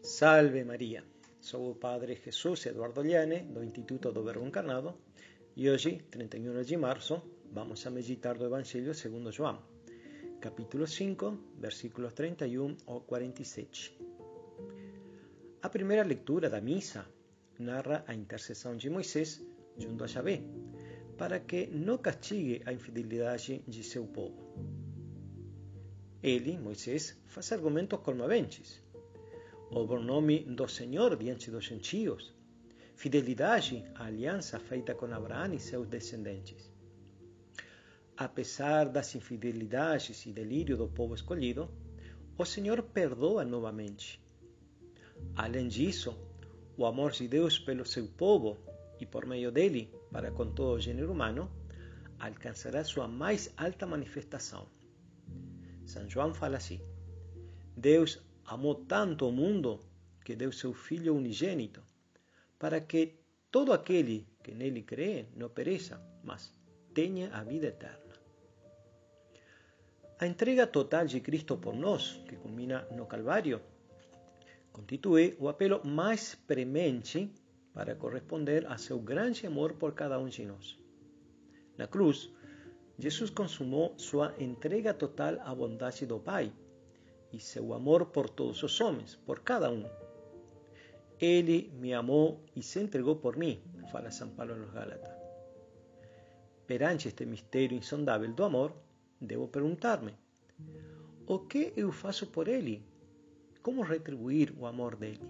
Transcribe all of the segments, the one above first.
Salve Maria, sou o Padre Jesus Eduardo Liane, do Instituto do Verbo Encarnado, e hoje, 31 de março, vamos a meditar do Evangelho segundo João, capítulo 5, versículos 31 ao 47. A primeira leitura da missa narra a intercessão de Moisés junto a Javé, para que não castigue a infidelidade de seu povo. Ele, Moisés, faz argumentos comoventes. O bom nome do Senhor diante dos gentios, fidelidade à aliança feita com Abraão e seus descendentes. Apesar das infidelidades e delírio do povo escolhido, o Senhor perdoa novamente. Além disso, o amor de Deus pelo seu povo e por meio dele para com todo o gênero humano alcançará sua mais alta manifestação. São João fala assim: Deus amou tanto o mundo que deu seu Filho unigênito, para que todo aquele que nele crê não pereça, mas tenha a vida eterna. A entrega total de Cristo por nós, que culmina no Calvário, constitui o apelo mais premente para corresponder a seu grande amor por cada um de nós. Na cruz, Jesus consumou sua entrega total à bondade do Pai e seu amor por todos os homens, por cada um. Ele me amou e se entregou por mim, fala São Paulo aos Gálatas. Perante este mistério insondável do amor, devo perguntar-me: o que eu faço por ele? Como retribuir o amor dele?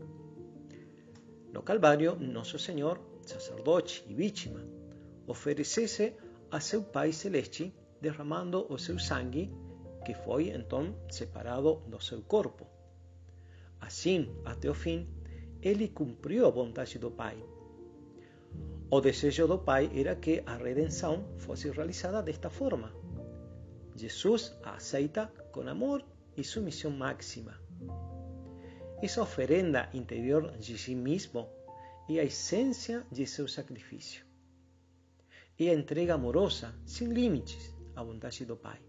No Calvário, Nosso Senhor, sacerdote e vítima, oferece-se a seu Pai Celeste, derramando o seu sangue, que foi então separado do seu corpo. Assim, até o fim, ele cumpriu a vontade do Pai. O desejo do Pai era que a redenção fosse realizada desta forma. Jesus a aceita com amor e submissão máxima. Essa oferenda interior de si mesmo é a essência de seu sacrifício. É a entrega amorosa, sem limites, à vontade do Pai.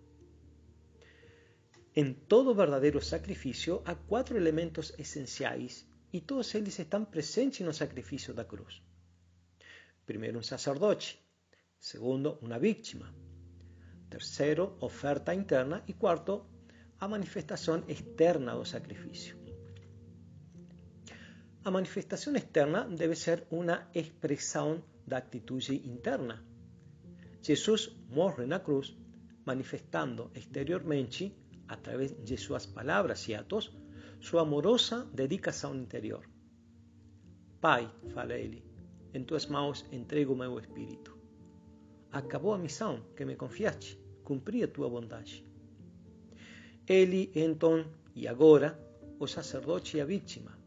Em todo verdadeiro sacrifício há 4 elementos essenciais e todos eles estão presentes no sacrifício da cruz. Primeiro, um sacerdote. Segundo, uma vítima. Terceiro, oferta interna. E quarto, a manifestação externa do sacrifício. A manifestação externa deve ser uma expressão da atitude interna. Jesus morre na cruz, manifestando exteriormente, através de suas palavras e atos, sua amorosa dedicação interior. Pai, fala ele, em tuas mãos entrego o meu espírito. Acabou a missão que me confiaste, cumpri a tua vontade. Ele, então, e agora, o sacerdote e a vítima.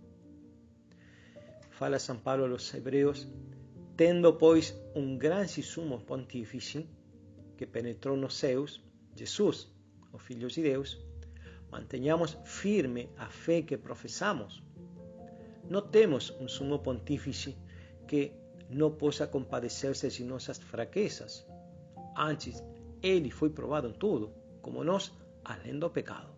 Fala São Paulo aos Hebreus: tendo, pois, grande sumo pontífice, que penetrou nos céus, Jesus, o Filho de Deus, mantenhamos firme a fé que professamos. Não temos sumo pontífice que não possa compadecer-se de nossas fraquezas. Antes, ele foi provado em tudo, como nós, além do pecado.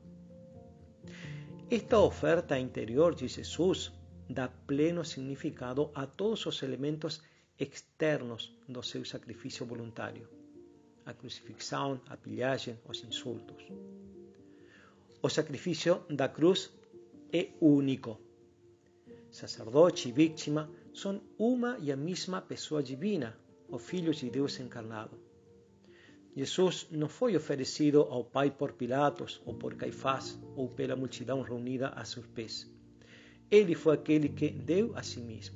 Esta oferta interior de Jesus dá pleno significado a todos os elementos externos do seu sacrifício voluntário: a crucifixão, a pilhagem, os insultos. O sacrifício da cruz é único. Sacerdote e vítima são uma e a mesma pessoa divina, o Filho de Deus encarnado. Jesus não foi oferecido ao Pai por Pilatos ou por Caifás ou pela multidão reunida a seus pés. Ele foi aquele que deu a si mesmo.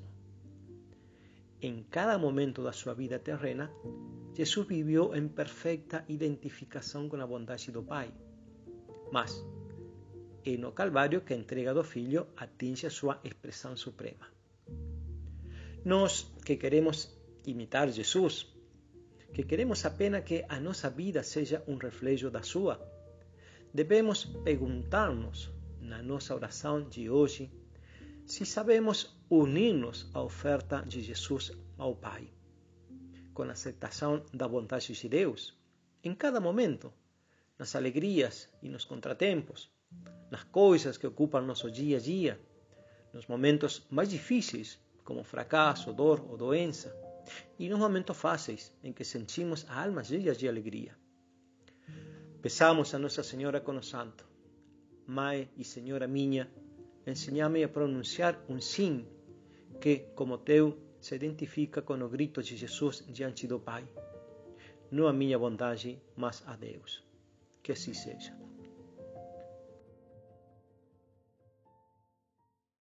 Em cada momento da sua vida terrena, Jesus viveu em perfeita identificação com a bondade do Pai. Mas é no Calvário que a entrega do Filho atinge a sua expressão suprema. Nós que queremos imitar Jesus, que queremos apenas que a nossa vida seja reflexo da sua, devemos perguntar-nos na nossa oração de hoje se sabemos unir-nos à oferta de Jesus ao Pai, com a aceitação da vontade de Deus, em cada momento, nas alegrias e nos contratempos, nas coisas que ocupam nosso dia a dia, nos momentos mais difíceis, como fracasso, dor ou doença, e nos momentos fáceis, em que sentimos a alma cheia de alegria. Peçamos a Nossa Senhora com o santo: Mãe e Senhora minha, ensinai-me a pronunciar um sim que, como teu, se identifica com o grito de Jesus diante do Pai. Não a minha bondade, mas a Deus. Que assim seja.